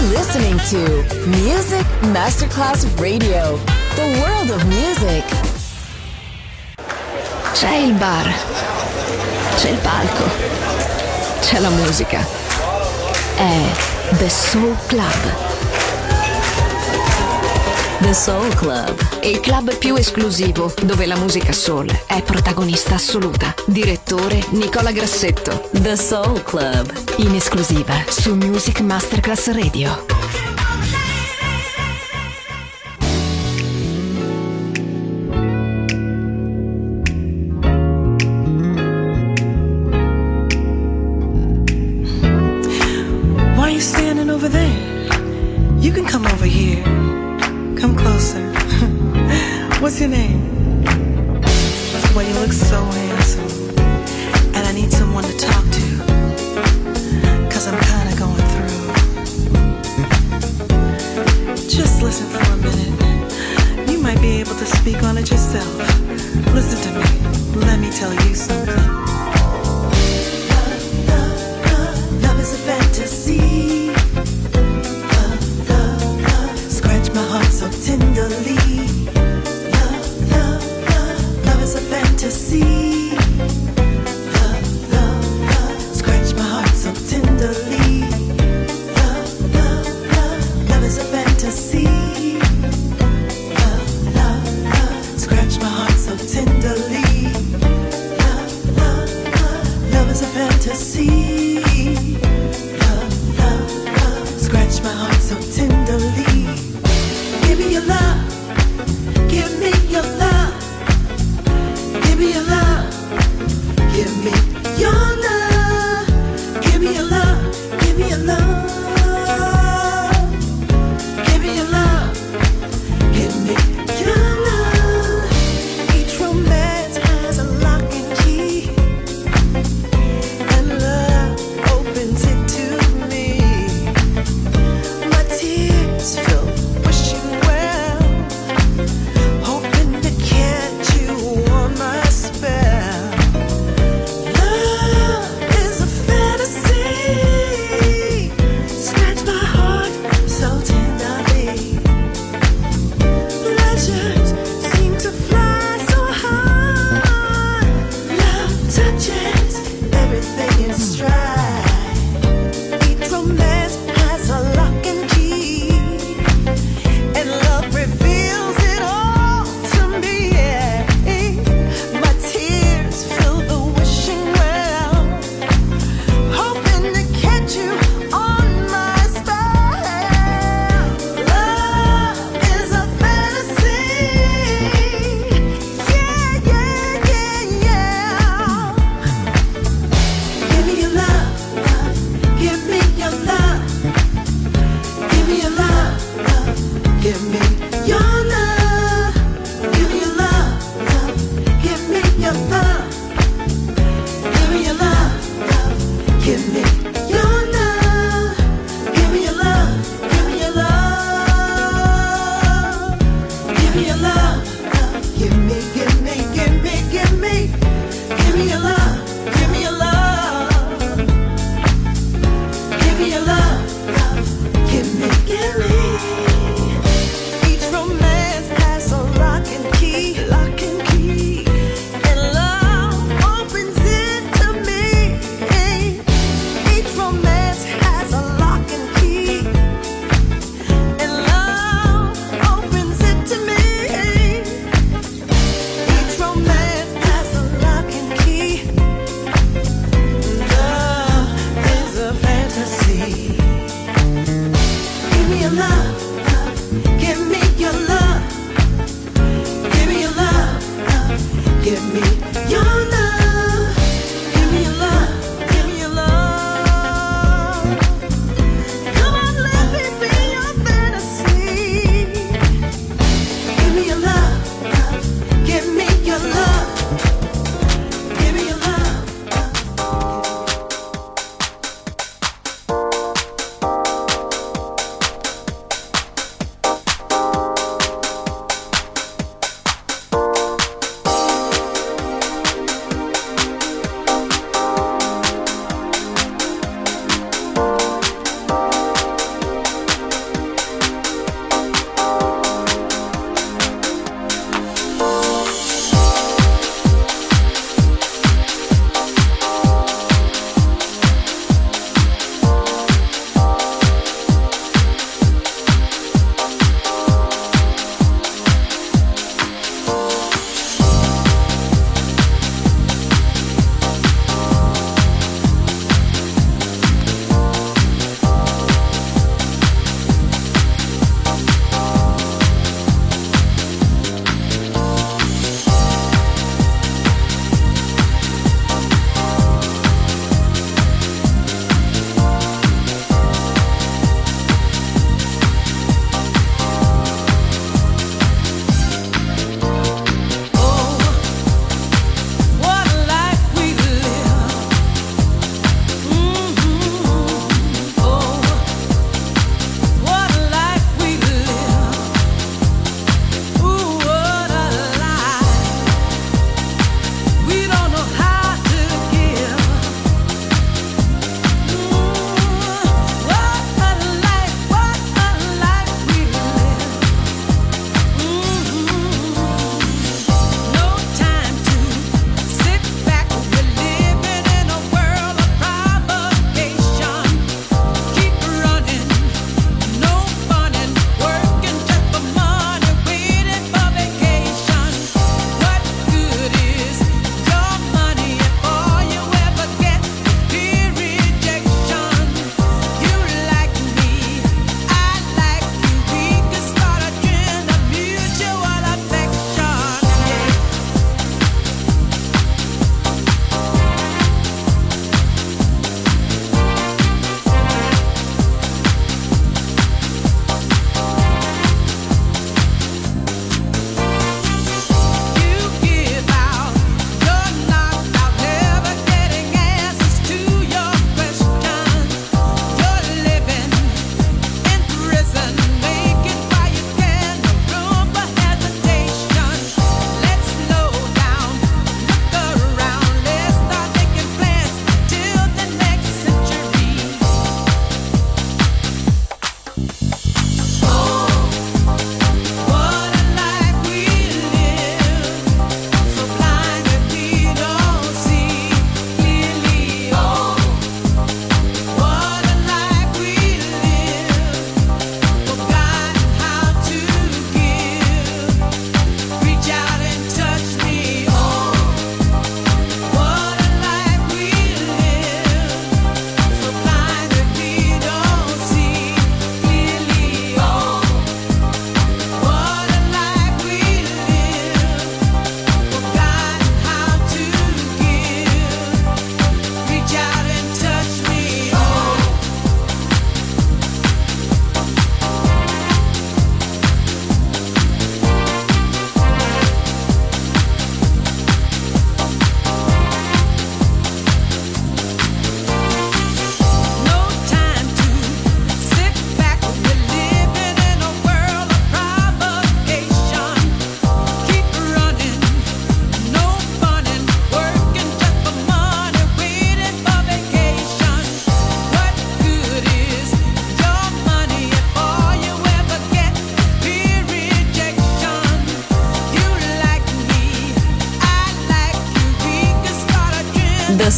listening to Music Masterclass Radio, the world of music. C'è il bar, c'è il palco, c'è la musica. È The Soul Club. The Soul Club, Il club più esclusivo dove la musica soul è protagonista assoluta. Direttore Nicola Grassetto. The Soul Club, In esclusiva su Music Masterclass Radio. Why are you standing over there? You can come over here. Come closer. What's your name? Well, you look so handsome, and I need someone to talk to, 'cause I'm kinda going through. Just listen for a minute. You might be able to speak on it yourself. Listen to me. Let me tell you something. Love is a fantasy. Scratch my heart so tenderly. Love is a fantasy. Scratch my heart so tenderly. Love is a fantasy. Scratch my heart.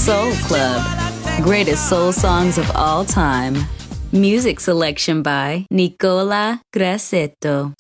Soul Club. Greatest soul songs of all time. Music selection by Nicola Grassetto.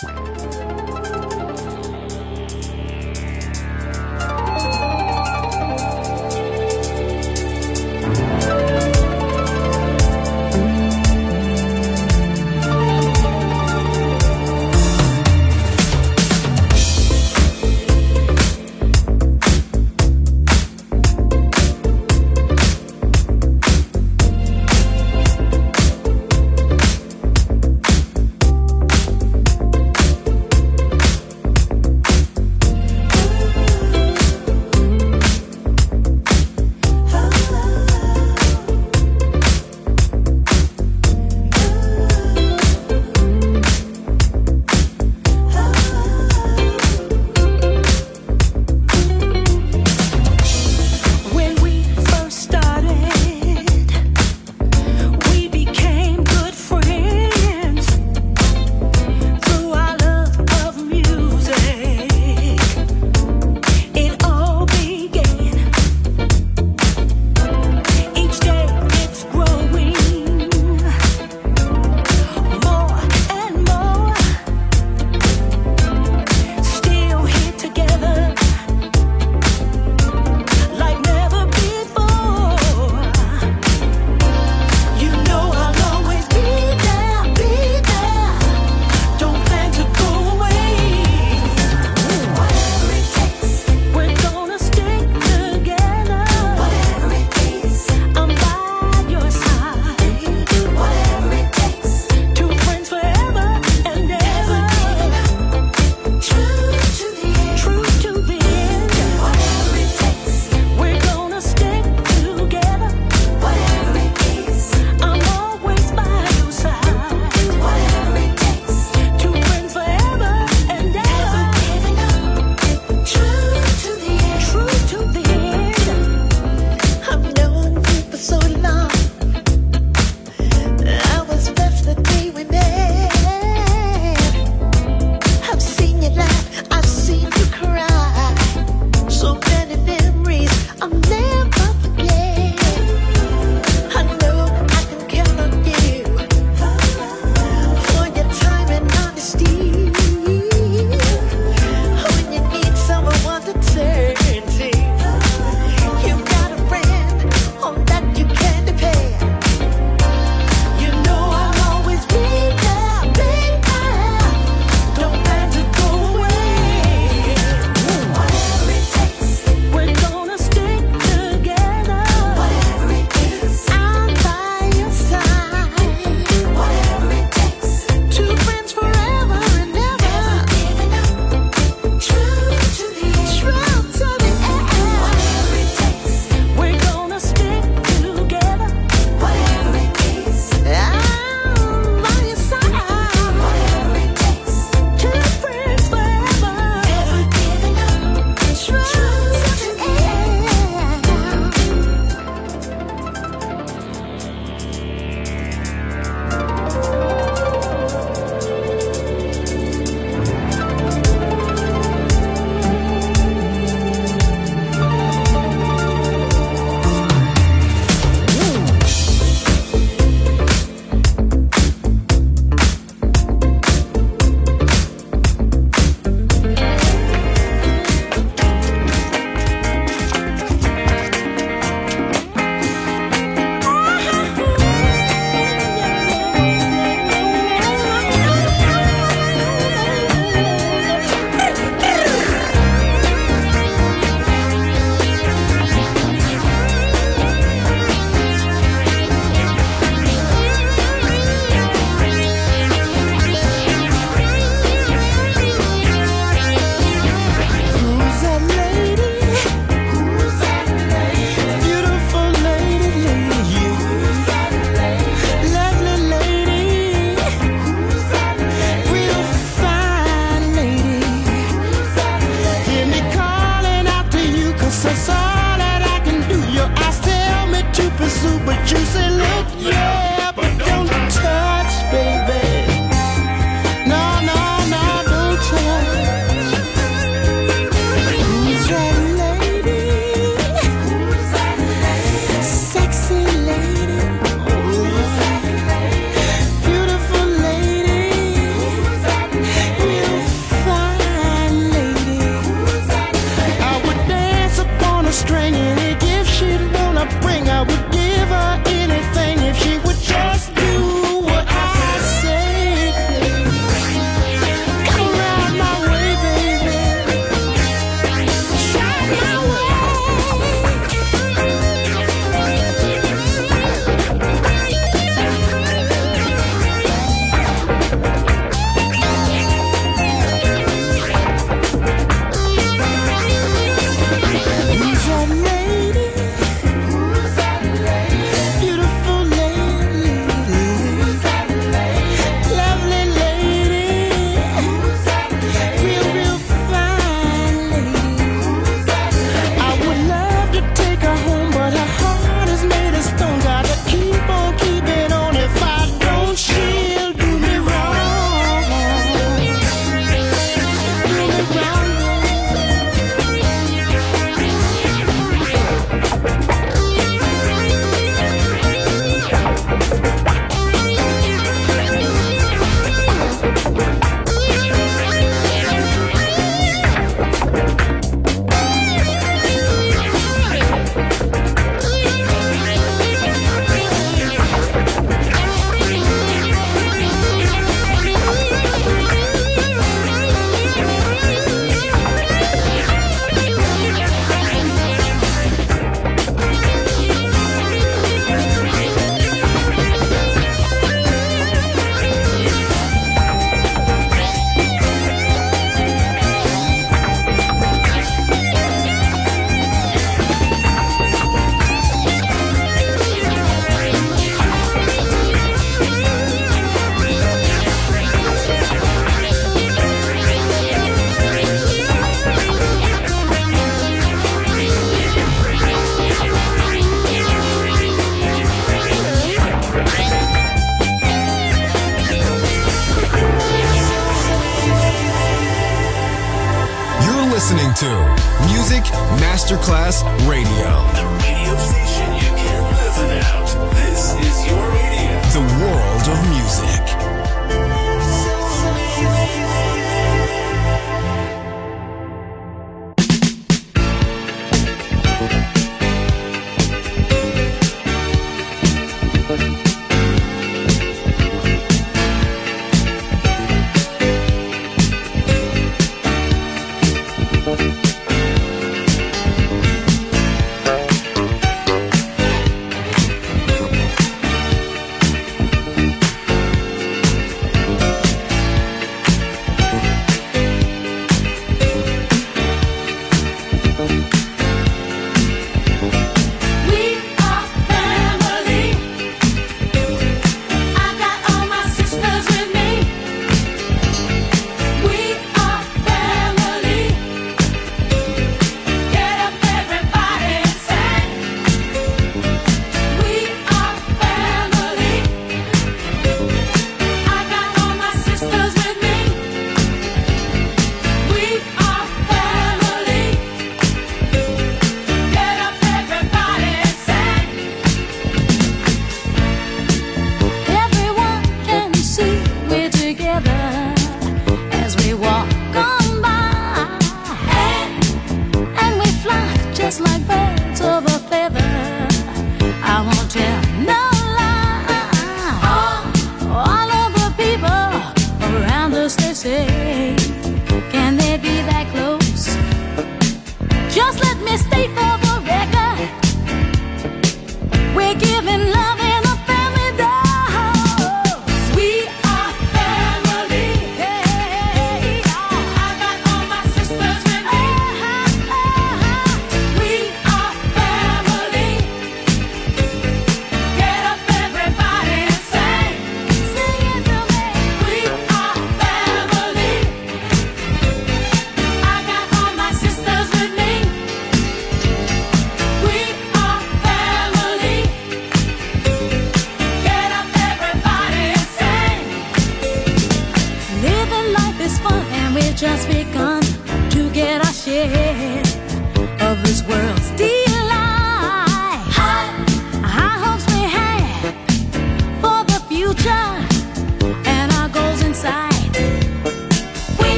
listening to Music Masterclass Radio. The radio station you can't live without. This is your radio. The world of music.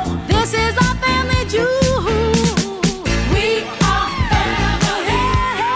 This is our family jewel. We are family.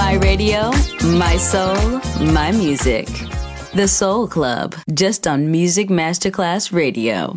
My radio, my soul, my music. The Soul Club, just on Music Masterclass Radio.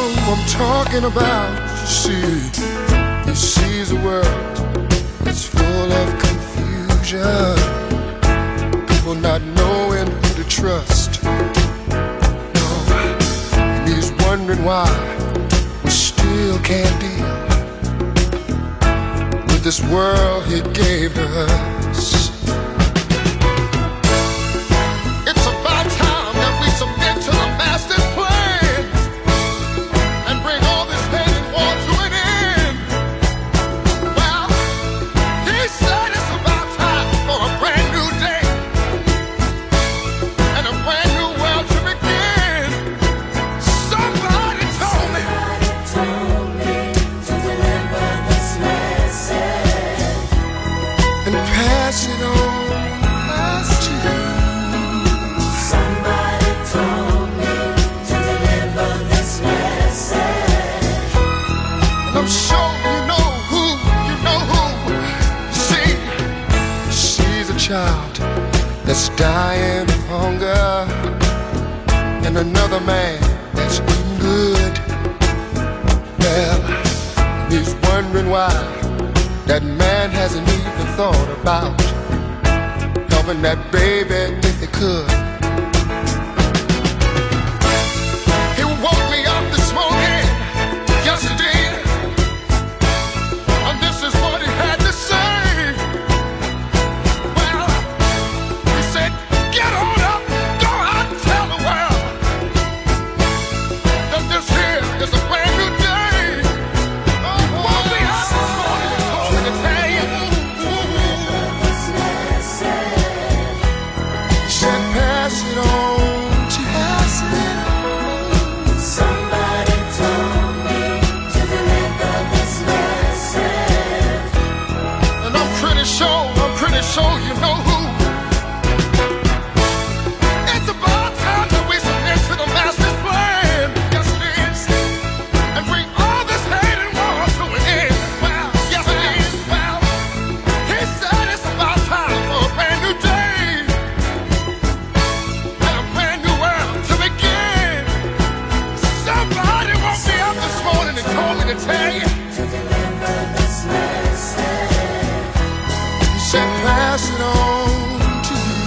I'm talking about. He sees a world that's full of confusion, people not knowing who to trust. No, and he's wondering why we still can't deal with this world he gave to us. It's about time that we submit to the master's plan and bring all this hate and war to an end. Well, he said it's about time for a brand new day and a brand new world to begin. Somebody told me to deliver this message and pass it on. I'm sure you know who. See, she's a child that's dying of hunger, and another man that's eating good. Well, he's wondering why that man hasn't even thought about helping that baby if he could. He woke me up this morning, yesterday. This is what he had to say. Well, he said, get on up, go out and tell the world that this here is a brand new day. Won't be out this morning and told me to tell you. He said, pass it on to pass it on. Somebody told me to deliver this message. I'm pretty sure you know who. It's about time that we submit to the master's plan. Yes, it is. And bring all this hate and war to an end. Well, yes, it is. Well, he said it's about time for a brand new day and a brand new world to begin. Somebody woke me up this morning and told me to tell you. To deliver this message. Said pass it on to you.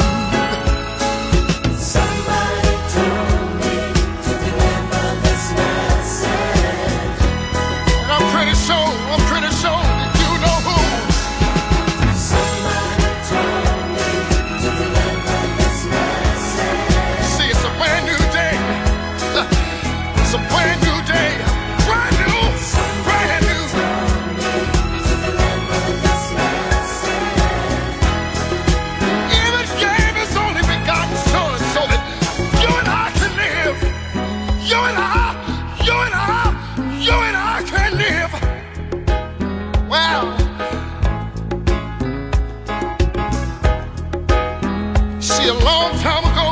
Somebody told me to deliver this message. And I'm pretty sure that you know who. Somebody told me to deliver this message. See, it's a brand new day. It's a brand new day. Brand new. You and I can live. Well, see, a long time ago,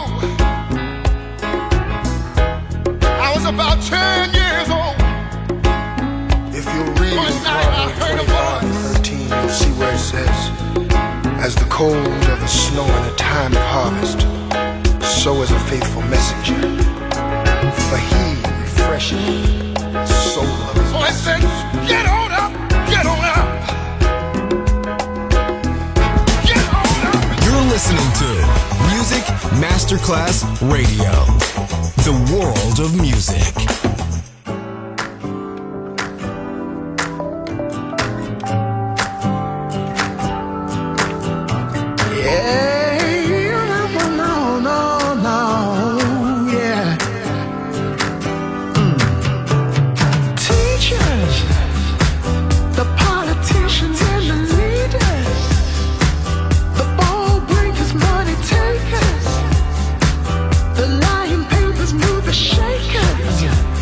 I was about 10 years old. If you read Proverbs 25:13, you'll see where it says, as the cold of the snow in a time of harvest, so is a faithful messenger. For he refreshes the soul of his So I said, get on up, get on up. Get on up. You're listening to Music Masterclass Radio. The world of music. The lying papers move the shakers.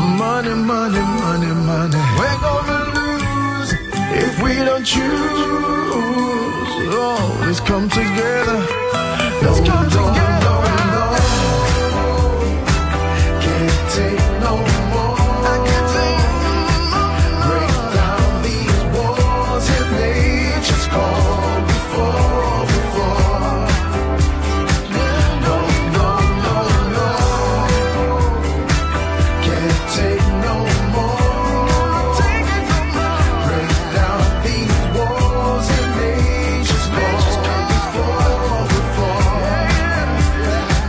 Money, money, money, money. We're gonna lose if we don't choose. Oh, let's come together. Let's come together. Can't take no more. I can't take no more. Break down these walls and nature's call before. No, no, no, no. Can't take no more. Break down these walls and nature's call before.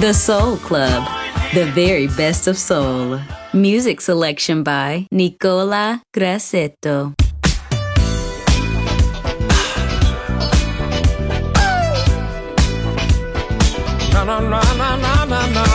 The Soul Club, the very best of soul. Music selection by Nicola Grassetto. Na na na na na na na.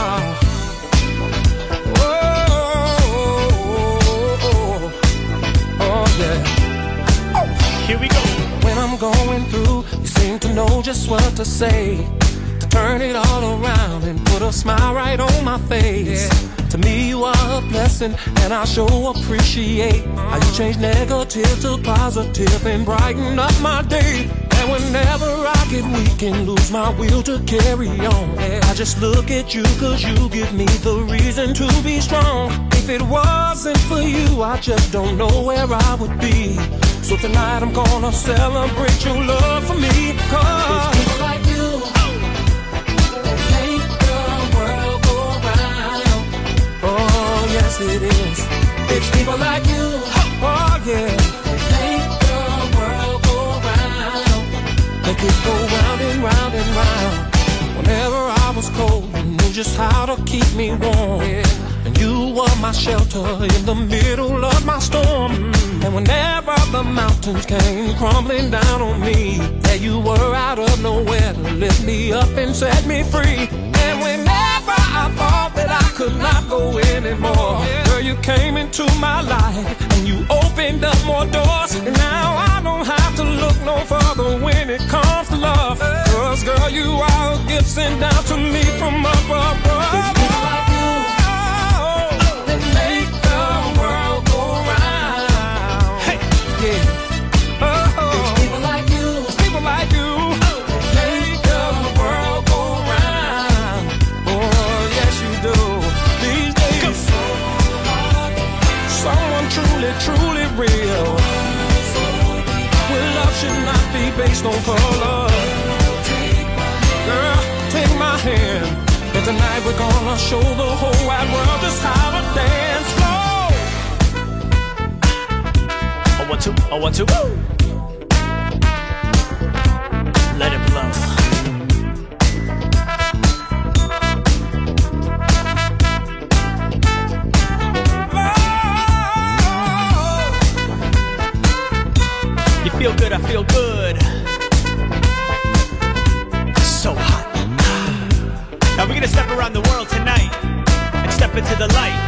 Oh yeah. Here we go. When I'm going through, you seem to know just what to say. Turn it all around and put a smile right on my face. Yeah. To me you are a blessing and I sure appreciate how you change negative to positive and brighten up my day. And whenever I get weak and lose my will to carry on, yeah, I just look at you cause you give me the reason to be strong. If it wasn't for you, I just don't know where I would be. So tonight I'm gonna celebrate your love for me. Cause it's people like you that make the world go round. Oh yes it is. It's people like you, oh yeah, that make the world go round. Make it go round and round and round. Whenever I was cold, you knew just how to keep me warm, yeah. And you were my shelter in the middle of my storm. And whenever the mountains came crumbling down on me, there you were out of nowhere to lift me up and set me free. And whenever I thought that I could not go anymore, girl, you came into my life and you opened up more doors. And now I don't have to look no further when it comes to love. Cause girl, you are a gift sent down to me from up above. It's people like you that make the world go round. Hey, yeah. It's people like you. It's people like you that make the world go round. Oh, yes you do. These days, someone truly, truly real. Well, love should not be based on color. Girl, take my hand, and tonight we're gonna show the whole wide world just how to dance slow. Oh, 1, 2, oh, 1, 2, woo! Let it blow. You feel good, I feel good. So hot. Now we're gonna step around the world tonight and step into the light.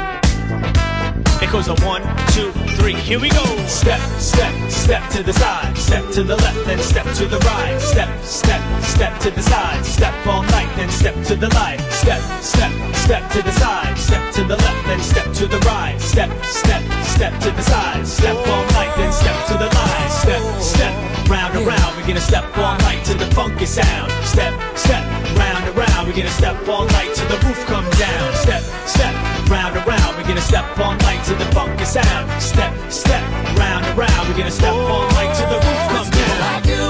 It goes on 1, 2, 3, here we go. Step, step, step to the side. Step to the left, then step to the right. Step, step, step to the side. Step all night, then step to the light. Step, step, step to the side. Step to the left, then step to the right. Step, step, step to the side. Step all night, then step to the light. Step, step, round and round. We're gonna step all night to the funky sound. Step, step, round and round. We're gonna step all night till the roof comes down. Step, step, round and round. We're gonna step all night to the funky sound. Step, step, round and round. We're gonna step all night till the roof comes down. Like you,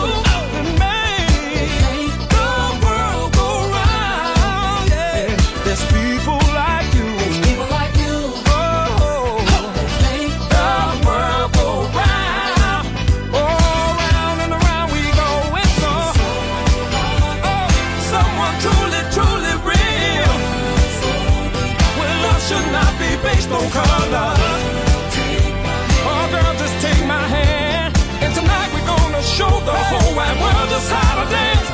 make the world go round. Yeah, there's people like you. There's people like you. Oh, make the world go round. Oh, round and around we go. It's so, someone truly, truly real. Well, love should not be based on color. Oh, girl, just take my hand. And tonight we're gonna show the whole wide world just how to dance.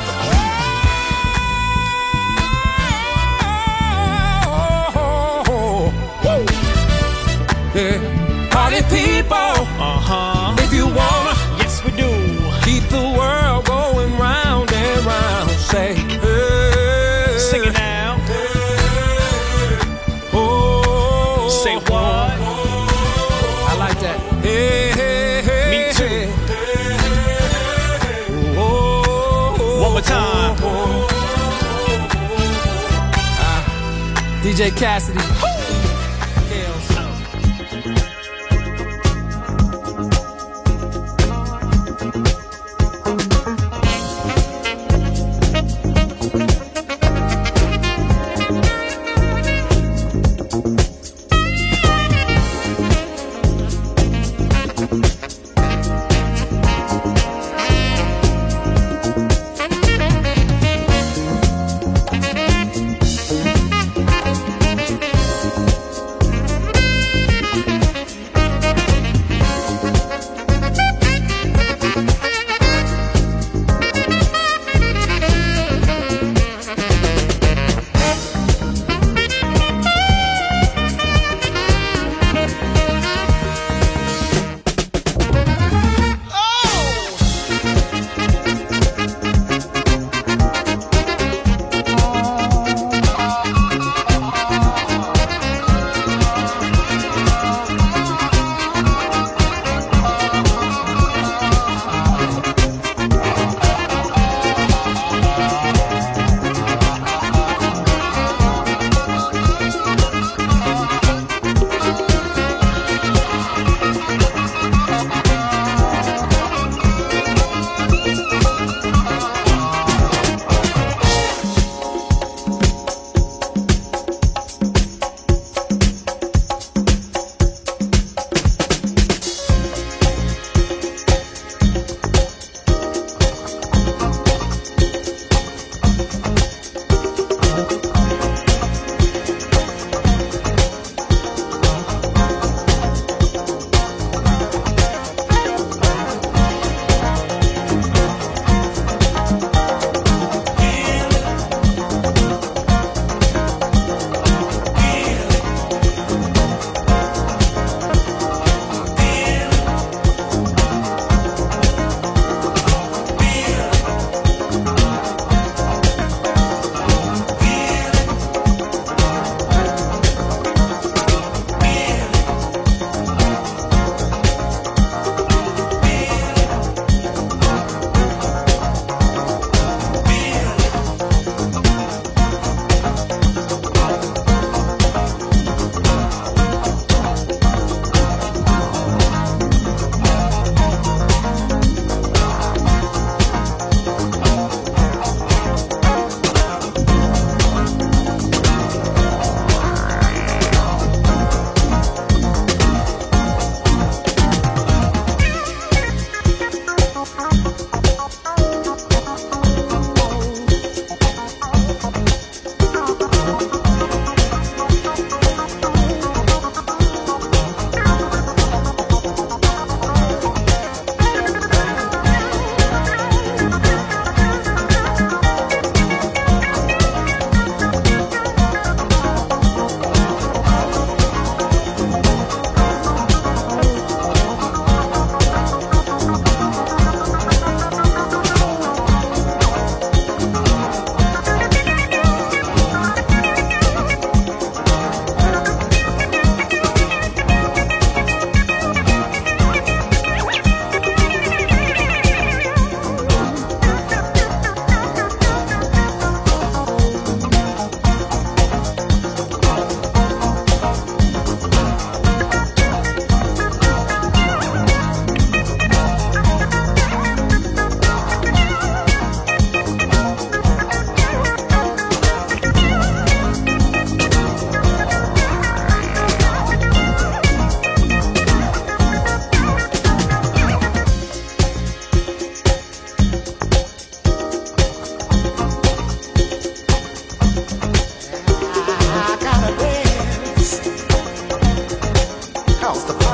Yeah. Party people, if you wanna, yes we do. keep the world going round and round. Say, hey, Sing it now. oh, Say what? I like that. Hey, hey, hey. Me too. Oh, One more time. DJ Cassidy.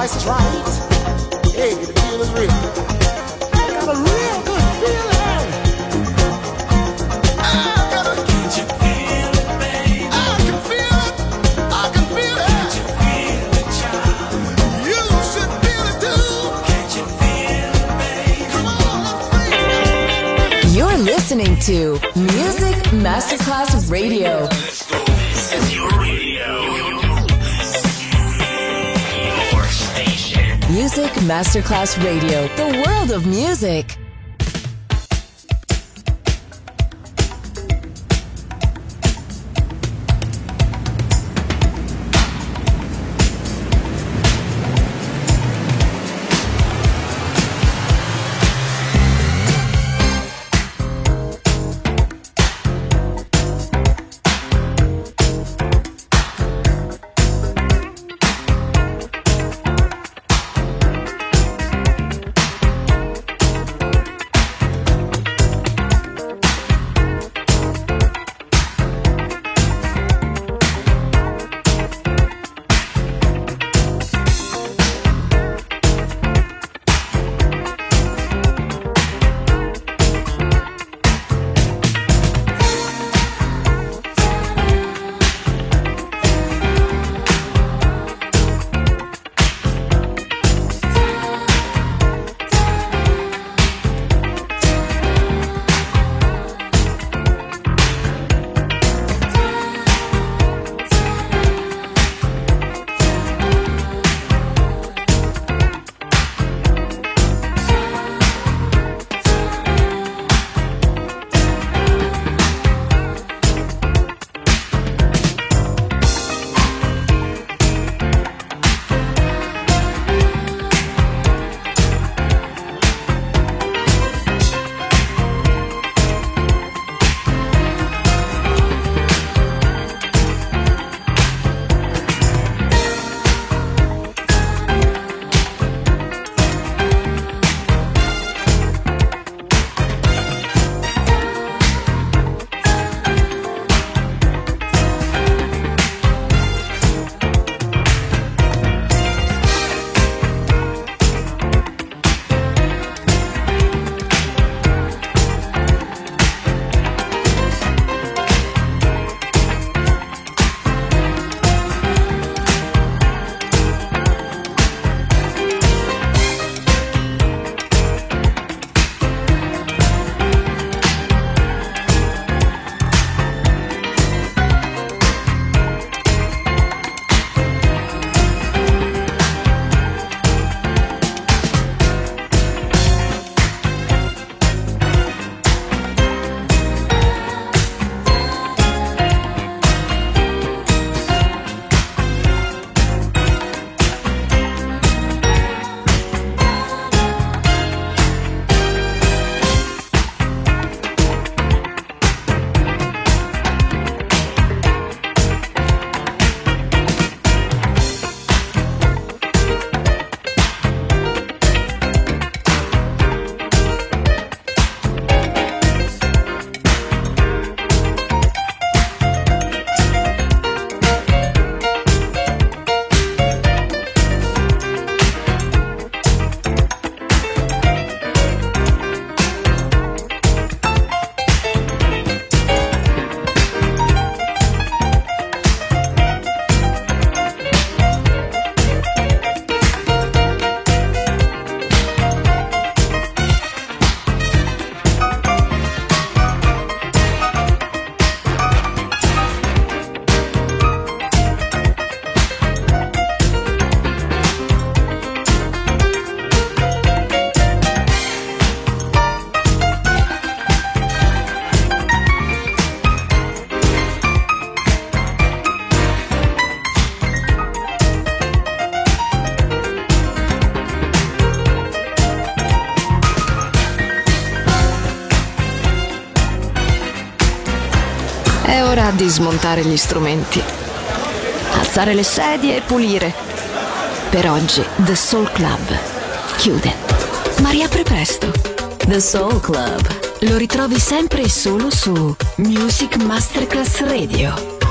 price is right. Hey, the deal is real. I got a real good feeling. I got a. Can't you feel it, baby? I can feel it. I can feel it. Can't you feel it, child? You should feel it too. Can't you feel it, baby? Come on, let's sing. You're listening to Music Masterclass Radio. This is your radio. Your station. Music Masterclass Radio, the world of music. È ora di smontare gli strumenti, alzare le sedie e pulire. Per oggi The Soul Club chiude, ma riapre presto. The Soul Club Lo ritrovi sempre e solo su Music Masterclass Radio.